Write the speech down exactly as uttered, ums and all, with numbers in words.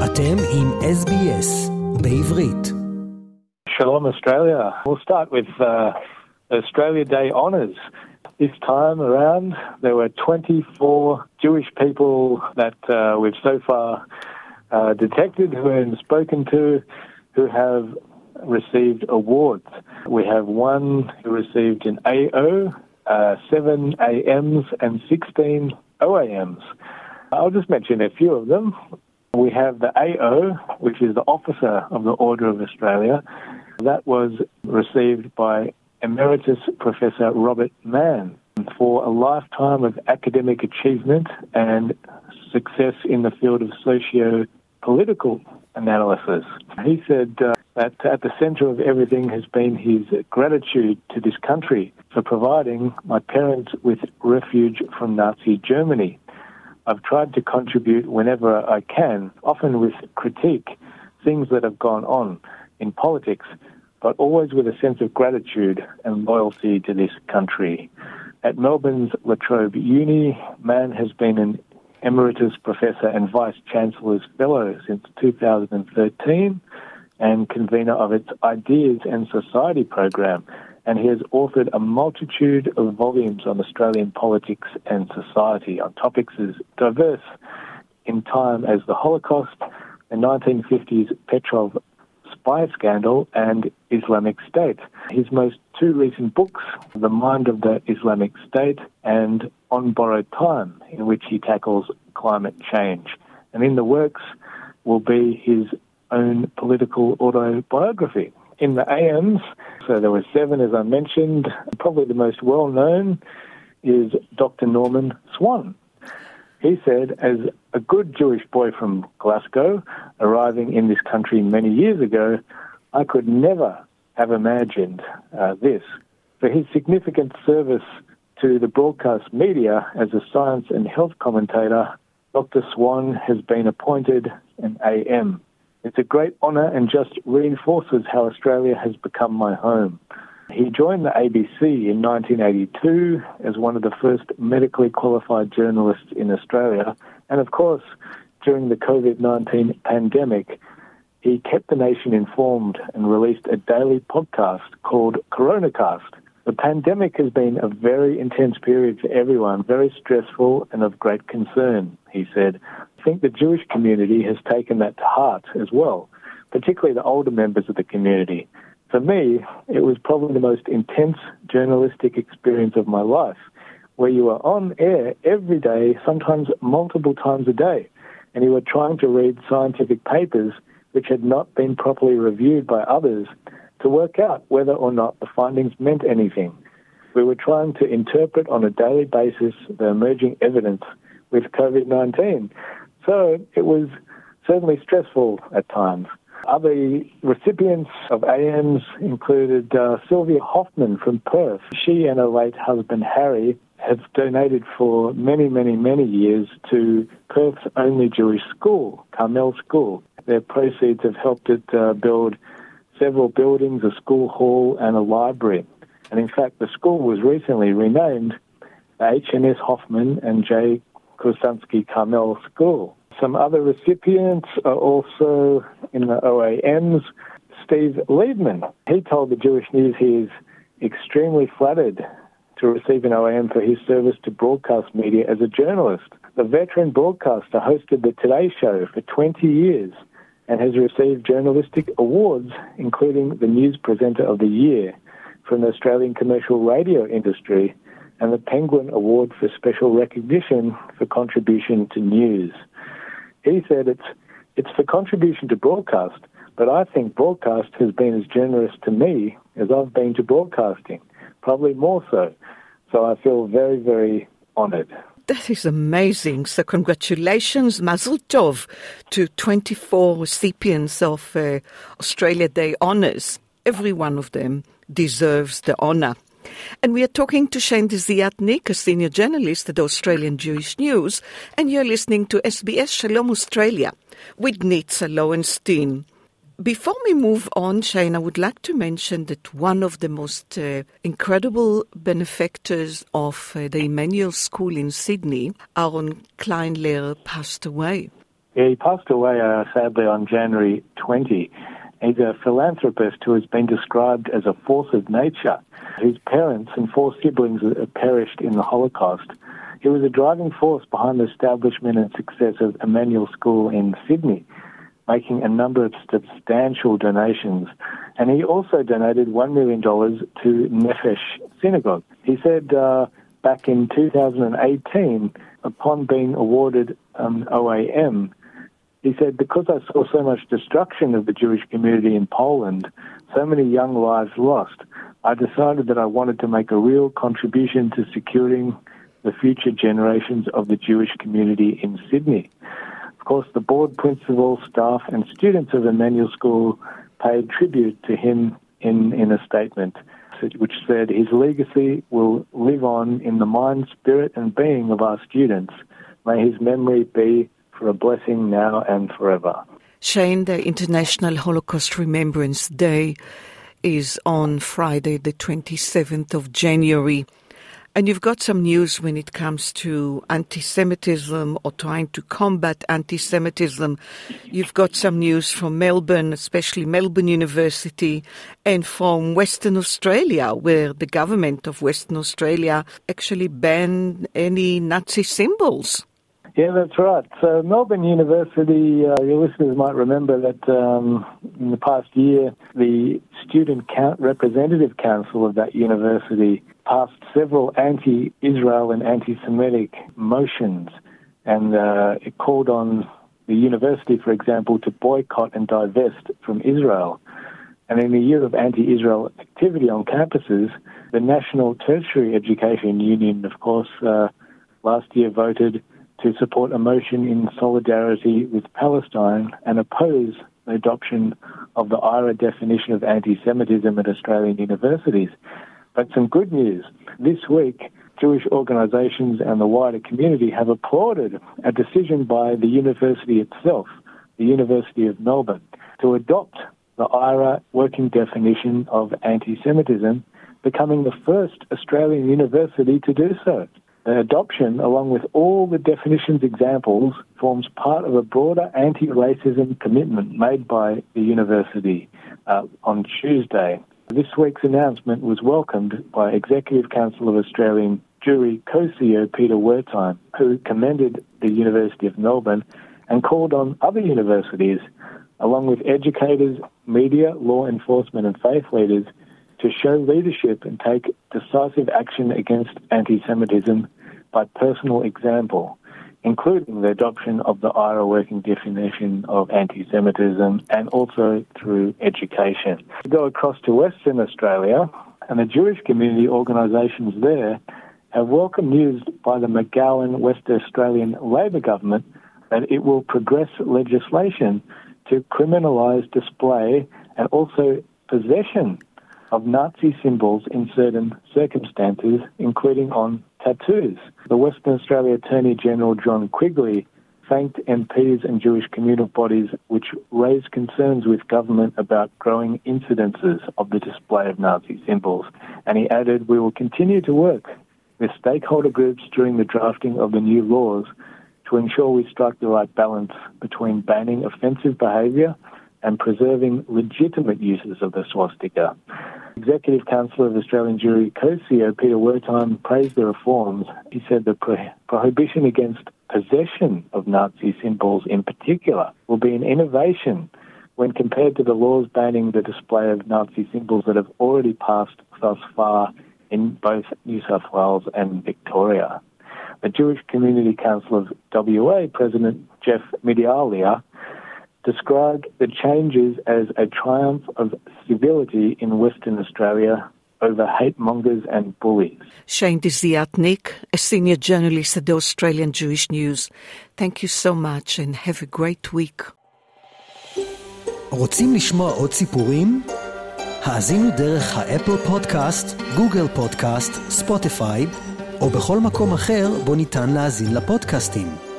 אתם עם אס בי אס בעברית. Shalom Australia. We'll start with uh, Australia Day honours. This time around, there were twenty-four Jewish people that uh, we've so far uh, detected who and spoken to who have received awards. We have one who received an A O, uh, seven A Ms and sixteen O A Ms. I'll just mention a few of them. We have the A O, which is the Officer of the Order of Australia. That was received by Emeritus Professor Robert Mann for a lifetime of academic achievement and success in the field of socio-political analysis. He said uh, that at the centre of everything has been his gratitude to this country for providing my parents with refuge from Nazi Germany. I've tried to contribute whenever I can, often with critique, things that have gone on in politics, but always with a sense of gratitude and loyalty to this country. At Melbourne's La Trobe Uni, Mann has been an Emeritus Professor and Vice-Chancellor's Fellow since two thousand thirteen and convener of its Ideas and Society program, and he has authored a multitude of volumes on Australian politics and society on topics as diverse in time as the Holocaust, the nineteen fifties Petrov spy scandal, and Islamic State. His most two recent books, The Mind of the Islamic State and On Borrowed Time, in which he tackles climate change. And in the works will be his own political autobiography. In the A Ms, so there were seven, as I mentioned. Probably the most well-known is Doctor Norman Swan. He said, as a good Jewish boy from Glasgow, arriving in this country many years ago, I could never have imagined uh, this. For his significant service to the broadcast media as a science and health commentator, Doctor Swan has been appointed an A M. It's a great honour and just reinforces how Australia has become my home. He joined the A B C in nineteen eighty-two as one of the first medically qualified journalists in Australia. And of course, during the covid nineteen pandemic, he kept the nation informed and released a daily podcast called Coronacast. The pandemic has been a very intense period for everyone, very stressful and of great concern, he said. I think the Jewish community has taken that to heart as well, particularly the older members of the community. For me, it was probably the most intense journalistic experience of my life, where you were on air every day, sometimes multiple times a day, and you were trying to read scientific papers which had not been properly reviewed by others to work out whether or not the findings meant anything. We were trying to interpret on a daily basis the emerging evidence with covid nineteen. So it was certainly stressful at times. Other recipients of A Ms included uh, Sylvia Hoffman from Perth. She and her late husband Harry have donated for many, many, many years to Perth's only Jewish school, Carmel School. Their proceeds have helped it uh, build several buildings, a school hall and a library. And in fact, the school was recently renamed the H M S Hoffman and J. Kursansky Carmel School. Some other recipients are also in the O A Ms. Steve Liebman. He told the Jewish News he is extremely flattered to receive an O A M for his service to broadcast media as a journalist. The veteran broadcaster hosted the Today Show for twenty years and has received journalistic awards, including the News Presenter of the Year from the Australian commercial radio industry and the Penguin Award for Special Recognition for contribution to news. He said it's it's for contribution to broadcast, but I think broadcast has been as generous to me as I've been to broadcasting, probably more so. So I feel very, very honoured. That is amazing. So congratulations, Mazel Tov, to twenty-four recipients of uh, Australia Day honours. Every one of them deserves the honour. And we are talking to Shane Desiatnik, a senior journalist at the Australian Jewish News, and you're listening to S B S Shalom Australia with Nitza Lowenstein. Before we move on, Shane, I would like to mention that one of the most uh, incredible benefactors of uh, the Emmanuel School in Sydney, Aaron Kleinler, passed away. Yeah, he passed away, uh, sadly, on January twentieth. He's a philanthropist who has been described as a force of nature. His parents and four siblings perished in the Holocaust. He was a driving force behind the establishment and success of Emmanuel School in Sydney, making a number of substantial donations. And he also donated one million dollars to Nefesh Synagogue. He said uh, back in two thousand eighteen, upon being awarded um, O A M, he said, because I saw so much destruction of the Jewish community in Poland, so many young lives lost, I decided that I wanted to make a real contribution to securing the future generations of the Jewish community in Sydney. Of course, the board, principal, staff and students of Emmanuel School paid tribute to him in, in a statement, which said his legacy will live on in the mind, spirit and being of our students. May his memory be for a blessing now and forever. Shane, the International Holocaust Remembrance Day is on Friday, the twenty-seventh of January. And you've got some news when it comes to anti-Semitism or trying to combat anti-Semitism. You've got some news from Melbourne, especially Melbourne University, and from Western Australia, where the government of Western Australia actually banned any Nazi symbols. Yeah, that's right. So Melbourne University, uh, your listeners might remember that um, in the past year, the Student Count Representative Council of that university passed several anti-Israel and anti-Semitic motions, and uh, it called on the university, for example, to boycott and divest from Israel. And in the year of anti-Israel activity on campuses, the National Tertiary Education Union, of course, uh, last year voted to support a motion in solidarity with Palestine and oppose the adoption of the I R A definition of anti-Semitism at Australian universities. But some good news. This week, Jewish organisations and the wider community have applauded a decision by the university itself, the University of Melbourne, to adopt the I R A working definition of anti-Semitism, becoming the first Australian university to do so. The adoption, along with all the definitions examples, forms part of a broader anti-racism commitment made by the university uh, on Tuesday. This week's announcement was welcomed by Executive Council of Australian Jewry co-C E O Peter Wertheim, who commended the University of Melbourne and called on other universities, along with educators, media, law enforcement and faith leaders, to show leadership and take decisive action against anti-Semitism by personal example, including the adoption of the I R A working definition of anti-Semitism and also through education. We go across to Western Australia, and the Jewish community organisations there have welcomed news by the McGowan West Australian Labor government that it will progress legislation to criminalise display and also possession of Nazi symbols in certain circumstances, including on tattoos. The Western Australia Attorney General John Quigley thanked M Ps and Jewish communal bodies which raised concerns with government about growing incidences of the display of Nazi symbols. And he added, "We will continue to work with stakeholder groups during the drafting of the new laws to ensure we strike the right balance between banning offensive behaviour and preserving legitimate uses of the swastika." Executive Council of Australian Jewry co-C E O Peter Wertheim praised the reforms. He said the pro- prohibition against possession of Nazi symbols in particular will be an innovation when compared to the laws banning the display of Nazi symbols that have already passed thus far in both New South Wales and Victoria. The Jewish Community Council of W A President Jeff Midialia described the changes as a triumph of civility in Western Australia over hate mongers and bullies. Shane Desiatnik, a senior journalist at the Australian Jewish News. Thank you so much and have a great week. רוצים לשמוע עוד סיפורים? האזינו דרך האפל פודקאסט, גוגל פודקאסט, ספוטיפיי, או בכל מקום אחר בו ניתן להאזין לפודקאסטים.